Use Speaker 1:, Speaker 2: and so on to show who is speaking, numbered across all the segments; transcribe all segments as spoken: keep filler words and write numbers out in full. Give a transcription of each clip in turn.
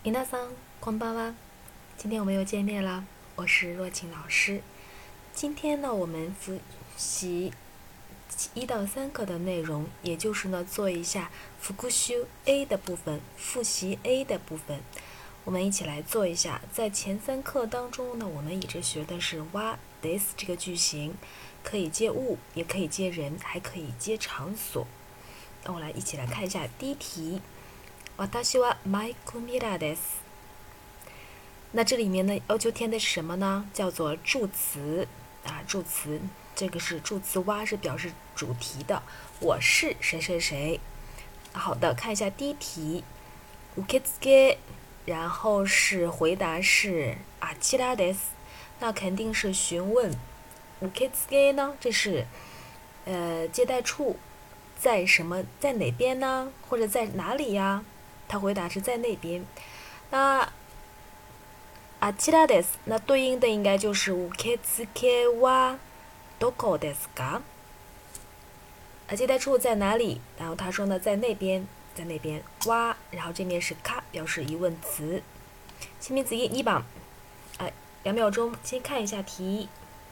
Speaker 1: 皆さんこんばんは。今天我们又见面了，我是若晴老师。今天呢，我们复习一到三课的内容，也就是呢，做一下复習 A 的部分，复习 A 的部分。我们一起来做一下。在前三课当中呢，我们一直学的是wa des 这个句型，可以接物，也可以接人，还可以接场所。那我来一起来看一下第一题。私はマイクミラです。那这里面呢，要求填的是什么呢？叫做助词啊，助词。这个是助词哇，是表示主题的。我是谁谁谁。好的，看一下第一题。受付，然后是回答是あちらです。那肯定是询问。受付呢，这是呃接待处在什么，在哪边呢？或者在哪里呀？他回答是在那边。那あちらです，那对应的应该就是受付はどこですか？啊，接待处在哪里？然后他说呢，在那边，在那边。哇，然后这面是か，表示疑问词。清明子一一番。哎，两秒钟，先看一下题。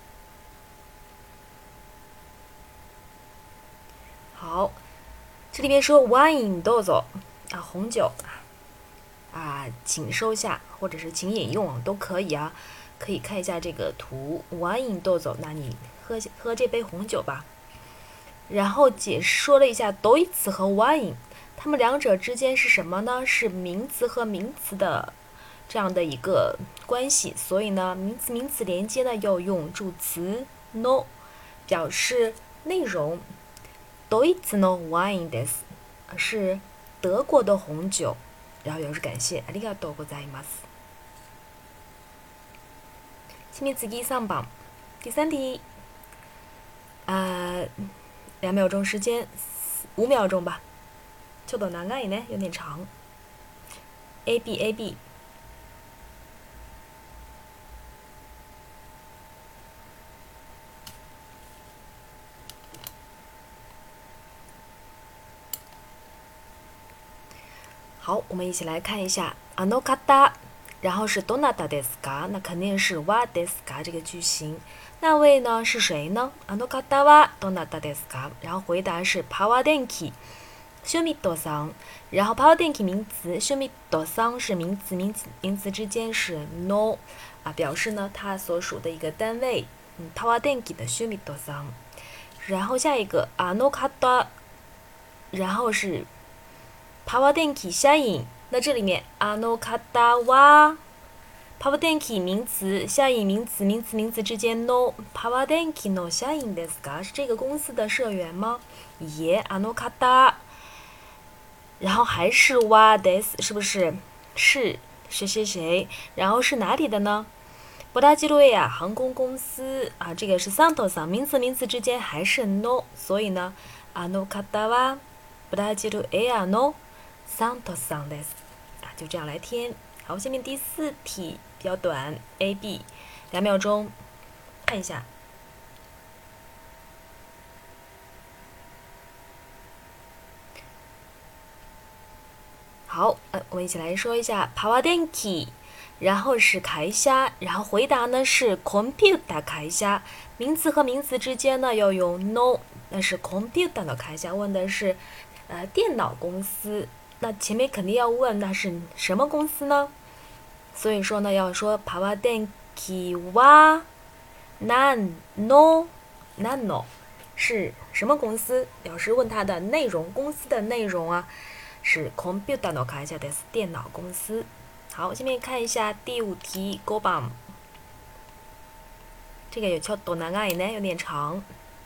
Speaker 1: 好，这里面说 wine どうぞ。啊，红酒啊，请收下，或者是请饮用都可以啊。可以看一下这个图 ，wine どうぞ，那你喝喝这杯红酒吧。然后解说了一下 ドイツ和 wine， 它们两者之间是什么呢？是名词和名词的这样的一个关系，所以呢，名词名词连接呢要用助词 no 表示内容。ドイツのワインです，是德国的红酒，然后表示感谢。ありがとうございます。清明次三番，第三题，呃，两秒钟时间，五秒钟吧。ちょっと長いね，有点长。A B A B。好，我们一起来看一下あの方，然后是どなたですか？那肯定是はですか这个句型。那位呢是谁呢？あの方はどなたですか？然后回答是パワー電気、シュミットさん。然後パワー電気名词，シュミットさん是名词，名词名词之间是 no 啊，表示呢它所属的一个单位。嗯，パワー電気的シュミットさん。然后下一个あの方，然后是パワー電気社員，那这里面あの方はパワー電気名词，社員名词，名词名词之间 no パワー電気の社員ですか？是这个公司的社員吗？也あの方，然后还是はです，是不是？是谁谁谁？然后是哪里的呢？ブラジルエア航空公司啊，这个是サントさん，名词名词之间还是 no， 所以呢，あの方はブラジルエアのサントさんです啊，就这样来填。好，下面第四题比较短 ，A B， 两秒钟，看一下。好，呃，我们一起来说一下パワー電気，然后是会社，然后回答呢是コンピュータ会社，名词和名词之间呢要用 no， 那是コンピュータの会社，问的是呃电脑公司。那前面肯定要问那是什么公司呢？所以说呢，要说パワー電気は何の何の是什么公司？表示问它的内容，公司的内容啊，是コンピュータの会社です，电脑公司。好，下面看一下第五题五番，这个有ちょっと長いね，有点长。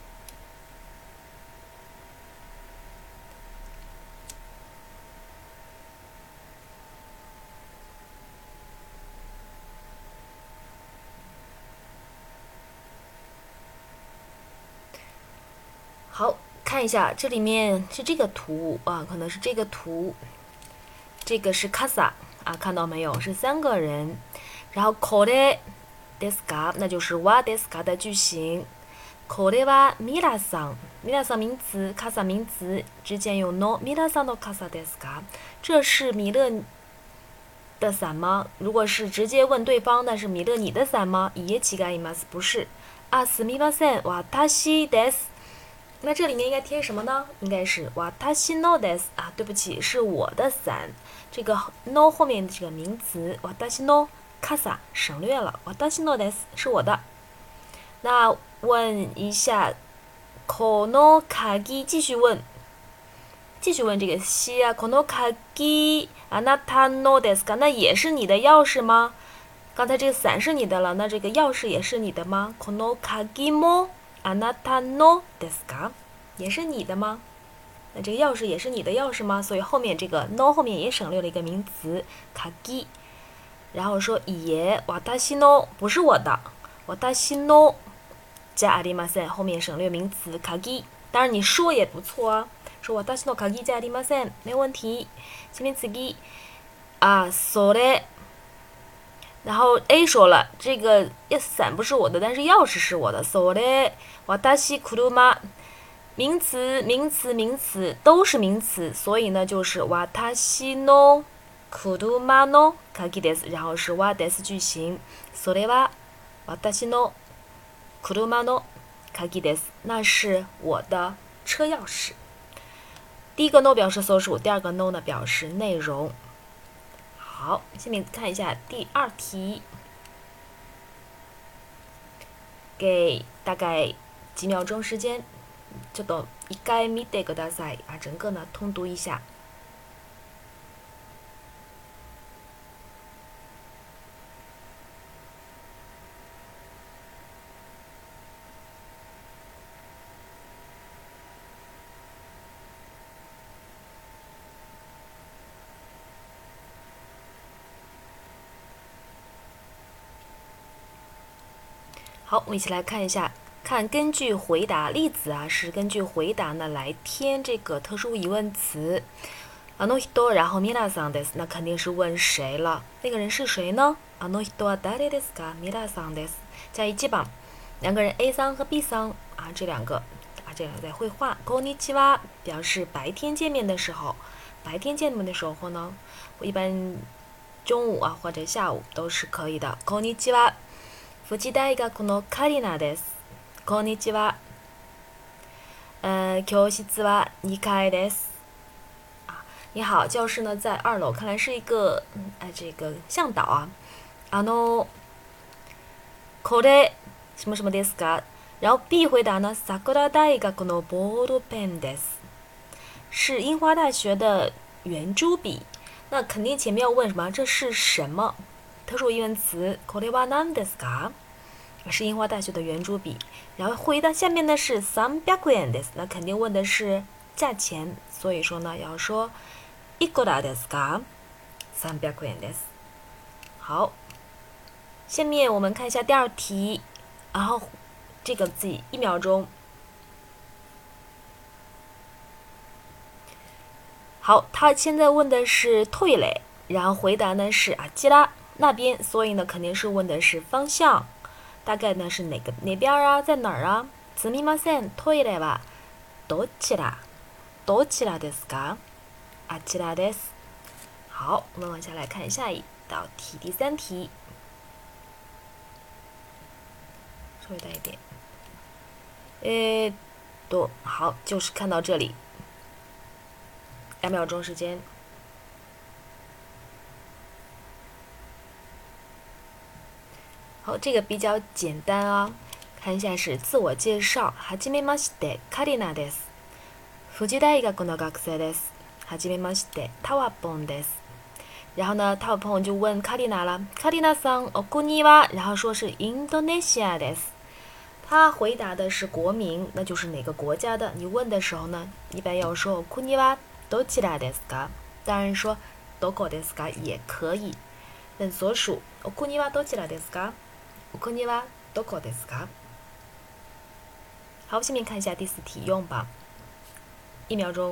Speaker 1: 好，看一下这里面是这个图啊，可能是这个图，这个是casa啊，看到没有？是三个人。然后これですか，那就是はですか的句型。これは皆さん，皆さん名词，casa名词之间用 no，皆さんのcasaですか？这是米勒的伞吗？如果是直接问对方，那是米勒你的伞吗？いえ違います，不是。啊，すみません、私です。那这里面应该贴什么呢？应该是私のです啊，对不起，是我的伞。这个 no 后面的这个名词私の傘省略了，私のです是我的。那问一下，この鍵继续问，继续问这个西啊，この鍵あなたのですか？那也是你的钥匙吗？刚才这个伞是你的了，那这个钥匙也是你的吗？この鍵もあなたのですか？也是你的吗？那这个钥匙也是你的钥匙吗？所以后面这个 no 后面也省略了一个名词鍵，然后说也私の不是我的，私のじゃありません，后面省略名词鍵。当然你说也不错啊，说私の鍵じゃありません，没有问题。下面次啊，それ。然后 A 说了，这个伞不是我的，但是钥匙是我的。それ私車，名词、名词、名词都是名词，所以呢就是私の車の鍵です，然后是はです句型。それは私の車の鍵です，那是我的车钥匙。第一个 no 表示所属，第二个 no 呢表示内容。好，下面看一下第二题，给大概几秒钟时间，ちょっと一回見てください啊，整个呢通读一下。好，我们一起来看一下，看根据回答例子啊，是根据回答呢来填这个特殊疑问词。あの人，然后皆さんです，那肯定是问谁了？那个人是谁呢？あの人は誰ですか？皆さんです。加一记榜，两个人 A 桑和 B 桑啊，这两个啊，这两个在绘画。こんにちは表示白天见面的时候，白天见面的时候呢，我一般中午啊或者下午都是可以的。こんにちは。富士大学のカリナです。こんにちは。呃，教室はにかいです。啊，你好，教室呢在二楼，看来是一个嗯，哎，这个向导啊。あの、これ什么什么ですか？然后 B 回答呢，桜大学のボールペンです，是樱花大学的圆珠笔。那肯定前面要问什么？这是什么？特殊疑问词，これは何ですか？是樱花大学的圆珠笔。然后回答下面的是三百円です，那肯定问的是价钱，所以说呢要说いくらですか？三百円です。好，下面我们看一下第二题，然后这个自己一秒钟。好，他现在问的是トイレ，然后回答呢是あちら那边，所以呢肯定是问的是方向，大概呢是哪个哪边啊，在哪儿啊？すみません、トイレはどちら？どちらですか？あちらです。好，我们往下来看下一道题，第三题，稍微大一点。诶，多好，就是看到这里，两秒钟时间。好，这个比较简单啊，看一下是自我介绍。はじめまして、カリナです。富士大学の学生です。はじめまして、タワポンです。然后呢，タワポン就问カリナ了，カリナさん、お国は？然后说是インドネシアです。他回答的是国名，那就是哪个国家的。你问的时候呢，一般要说お国はどちらですか？当然说どこですか也可以。问所属，お国はどちらですか？お国はどこですか？好，下面看一下第四题用吧，一秒钟。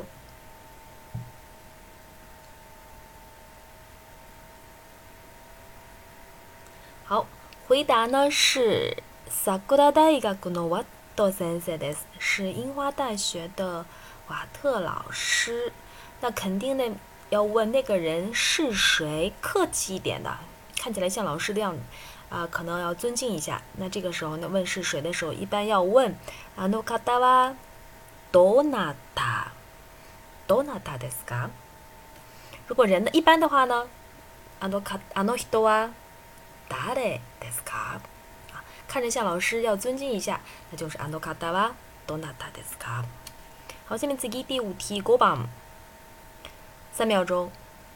Speaker 1: 好，回答呢是桜大学のワット先生です，是樱花大学的瓦特老师。那肯定呢要问那个人是谁，客气一点的，看起来像老师的样子啊、呃，可能要尊敬一下。那这个时候呢，问是谁的时候，一般要问あの方はどなた？どなたですか？如果人的一般的话呢，あのかあの人は誰ですか？啊，看着像老师，要尊敬一下，那就是あの方はどなたですか？好，下面次第五题，ご番，三秒钟。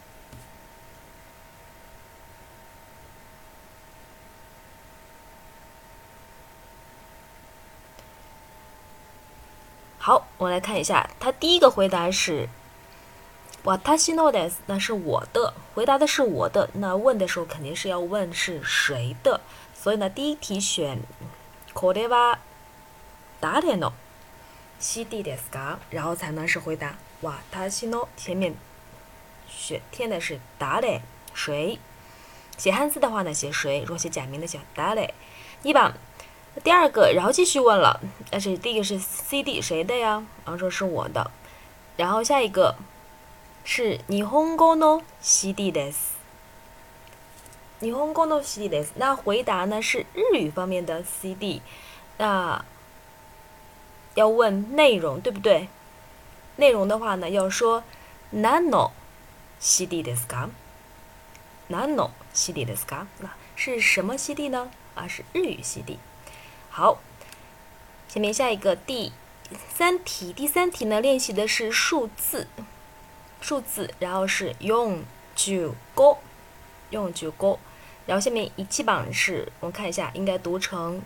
Speaker 1: 好，我来看一下，他第一个回答是私のです，那是我的，回答的是我的，那问的时候肯定是要问是谁的，所以呢，第一题选これは誰の C D ですか？然后才能是回答私の，前面选填的是誰谁，写汉字的话呢写谁，如果写假名的写誰。一番。第二个，然后继续问了，但是第一个是 C D 谁的呀？然后说是我的，然后下一个是日本語の C D です。日本語の C D です。那回答呢是日语方面的 C D， 那要问内容对不对？内容的话呢要说何の C D ですか？何の C D ですか？那是什么 C D 呢？啊，是日语 C D。好，下面下一个第三题，第三题呢练习的是数字，数字，然后是用九五，用九五，然后下面一七榜是我们看一下，应该读成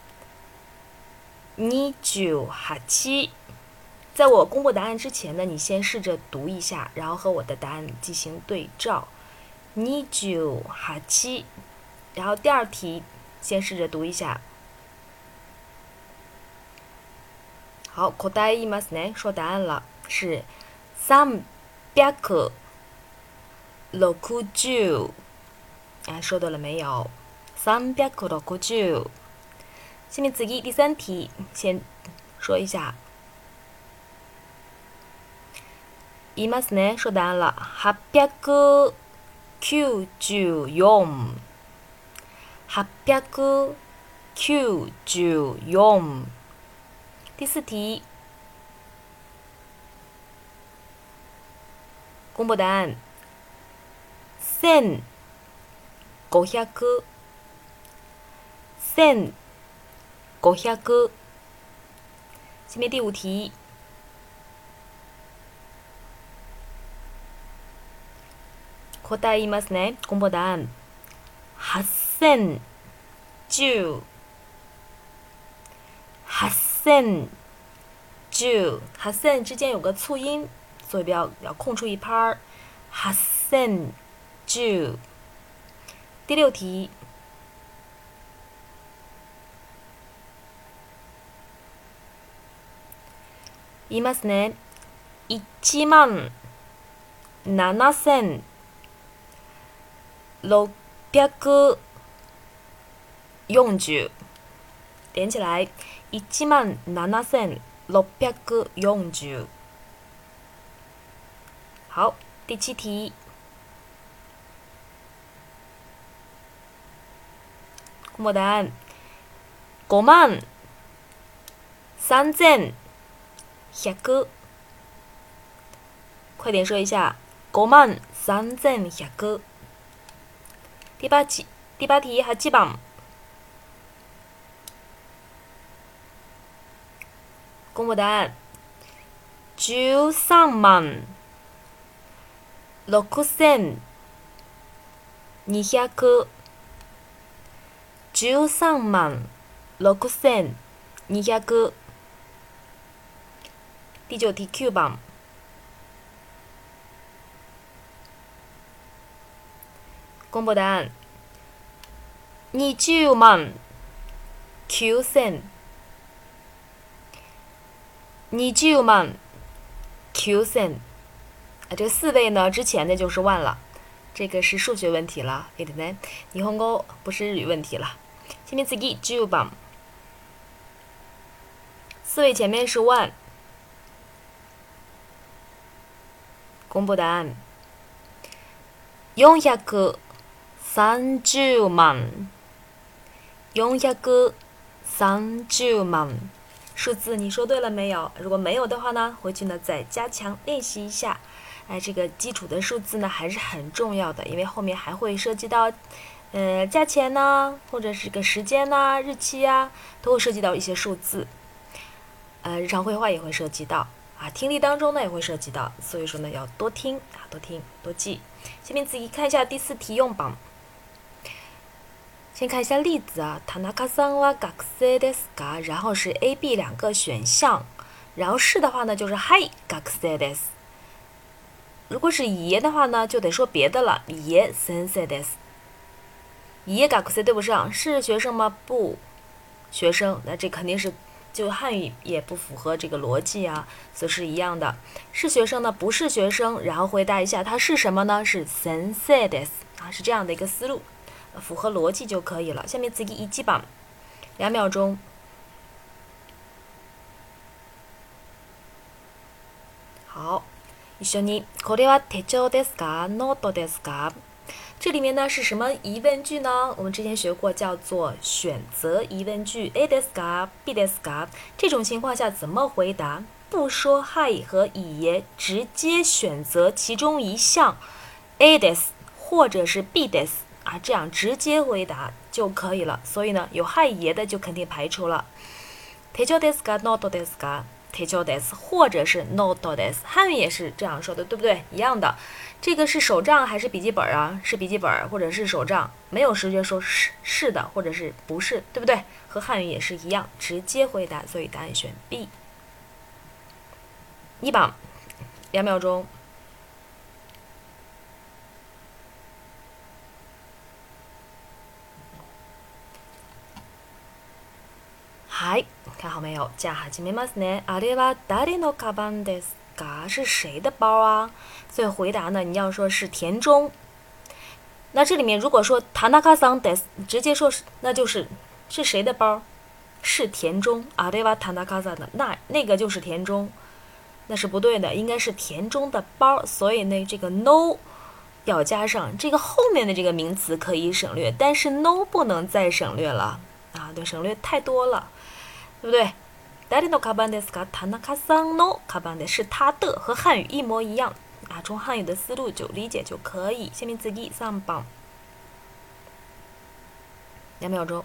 Speaker 1: 二九八七。在我公布答案之前呢，你先试着读一下，然后和我的答案进行对照。二九八七，然后第二题先试着读一下。好，答え言いますね。说答案了，是三百六十。哎，说对了没有？三百六十。下面次第三题，先说一下。言いますね。说答案了，八百九十四。八百九十四。第四题，公布答案，千五百，千五百。下面第五题，答え言いますね。公布答案，八千十。八千十，八千之间有个促音，所以不要要空出一拍儿。八千十。第六题，言いますね。一万七千六百四十。连起来，一万七千六百四十。好，第七题，公布答案，五万三千百。快点说一下，五万三千百。第八题，第八题八番。公布答案，十三万六千二百。十三万六千二百。第九题九番。公布答案，二十万九千。二十万九千。啊，这个四位呢，之前的就是万了，这个是数学问题了，对不对？日本語不是日语问题了。下面次十番，四位前面是万。公布答案， 四百三十万。四百三十万。数字你说对了没有？如果没有的话呢，回去呢再加强练习一下。哎，这个基础的数字呢还是很重要的，因为后面还会涉及到，呃，价钱呢，或者是个时间呐、日期呀、啊，都会涉及到一些数字。呃，日常绘画也会涉及到啊，听力当中呢也会涉及到，所以说呢要多听啊，多听多记。下面自己看一下第四题用榜。先看一下例子啊，田中さんは学生ですか？然后是 A、B 两个选项，然后是的话呢就是はい学生です。如果是いいえ的话呢，就得说别的了，いいえ先生です。いいえ学生对不上，是学生吗？不，学生，那这肯定是就汉语也不符合这个逻辑啊，所以是一样的。是学生呢？不是学生，然后回答一下它是什么呢？是先生です啊，是这样的一个思路。符合逻辑就可以了。下面次一基榜，两秒钟。好，一緒に。これは手帳ですか？ノートですか？这里面呢是什么疑问句呢？我们之前学过，叫做选择疑问句。A ですか？ B ですか？这种情况下怎么回答？不说はい和いいえ，直接选择其中一项 A です，或者是 B です。啊，这样直接回答就可以了。所以呢，有はいいえ的就肯定排除了。手帳ですか？ノートですか？手帳です，或者是ノートです。汉语也是这样说的，对不对？一样的。这个是手账还是笔记本啊？是笔记本或者是手账，没有直接说是是的或者是不是，对不对？和汉语也是一样，直接回答，所以答案选 B。一榜，两秒钟。はい、看好没有？じゃあ始めますね。あれは誰のカバンですか？是谁的包啊？所以回答呢，你要说是田中。那这里面如果说田中さんです，直接说是，那就是是谁的包？是田中。あれは田中さん的，那那个就是田中，那是不对的，应该是田中的包。所以呢，这个 no 要加上这个后面的这个名词可以省略，但是 no 不能再省略了啊，对，省略太多了。对不对？誰のカバンですか？田中さんのカバンです，是他的，和汉语一模一样啊。从汉语的思路就理解就可以。下面次三番，两秒钟。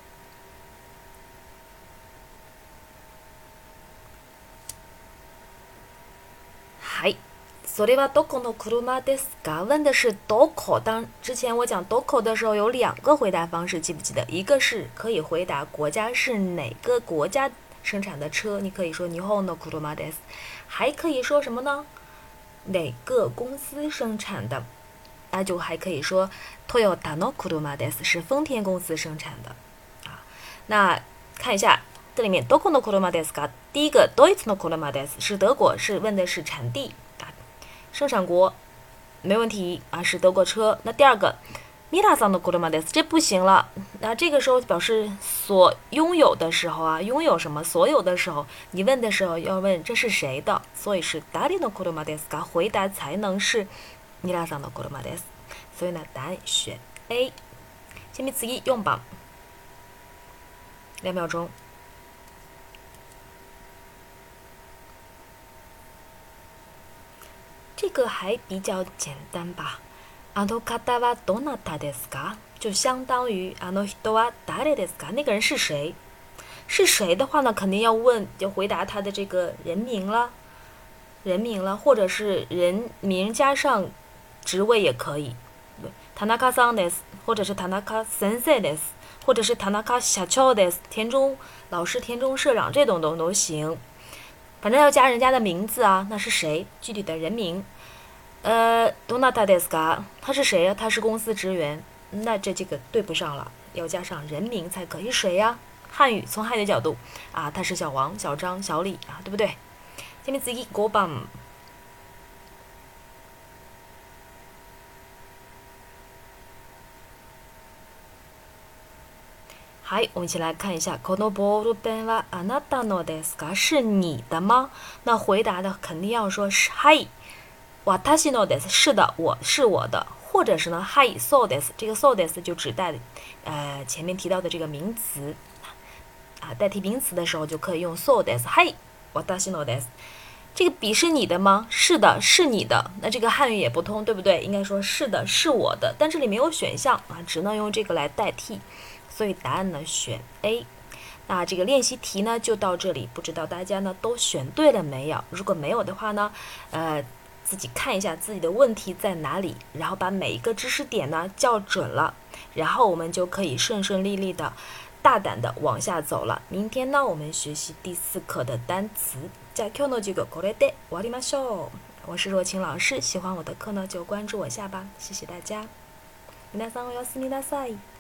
Speaker 1: はい。それはどこの車ですか？问的是どこ。当之前我讲どこ的时候，有两个回答方式，记不记得？一个是可以回答国家是哪个国家生产的车，你可以说日本の車です。还可以说什么呢？哪个公司生产的？那就还可以说トヨタの車です，是丰田公司生产的。啊，那看一下这里面どこの車ですか？第一个ドイツの車です，是德国，是问的是产地。生产国没问题啊，是德国车。那第二个皆さんの車です，这不行了。那这个时候表示所拥有的时候啊，拥有什么？所有的时候，你问的时候要问这是谁的，所以是誰の車ですか？回答才能是皆さんの車です。所以呢，答案选 A。下面次一用榜，两秒钟。这个还比较简单吧。あの方はどなたですか？就相当于あの人は誰ですか？那个人是谁？是谁的话呢，肯定要问，就回答他的这个人名了，人名了，或者是人名加上职位也可以。田中さんです，或者是田中先生です，或者是田中社長です，田中老师、田中社长这种都都行。反正要加人家的名字啊，那是谁？具体的人名。呃，どなたですか？他是谁呀？他是公司职员，那这这个对不上了，要加上人名才可以。谁呀？汉语从汉语的角度啊，他是小王、小张、小李啊，对不对？下面次五番。好，我们一起来看一下，このボールペンはあなたのですか？是你的吗？那回答的肯定要说是はい。私のです，是的，我是我的。 或者是呢はいそうです，这个そうです就指代呃前面提到的这个名词啊，代替名词的时候就可以用そうです。はい私のです。这个笔是你的吗？是的，是你的。那这个汉语也不通，对不对？应该说是的，是我的。但这里没有选项啊，只能用这个来代替。所以答案呢选 A。那这个练习题呢就到这里，不知道大家呢都选对了没有？如果没有的话呢，呃，自己看一下自己的问题在哪里，然后把每一个知识点呢校准了，然后我们就可以顺顺利利的、大胆的往下走了。明天呢，我们学习第四课的单词。じゃあ今日の授業これで終わりましょう。我是若晴老师，喜欢我的课呢就关注我下吧，谢谢大家。皆さんおやすみなさい。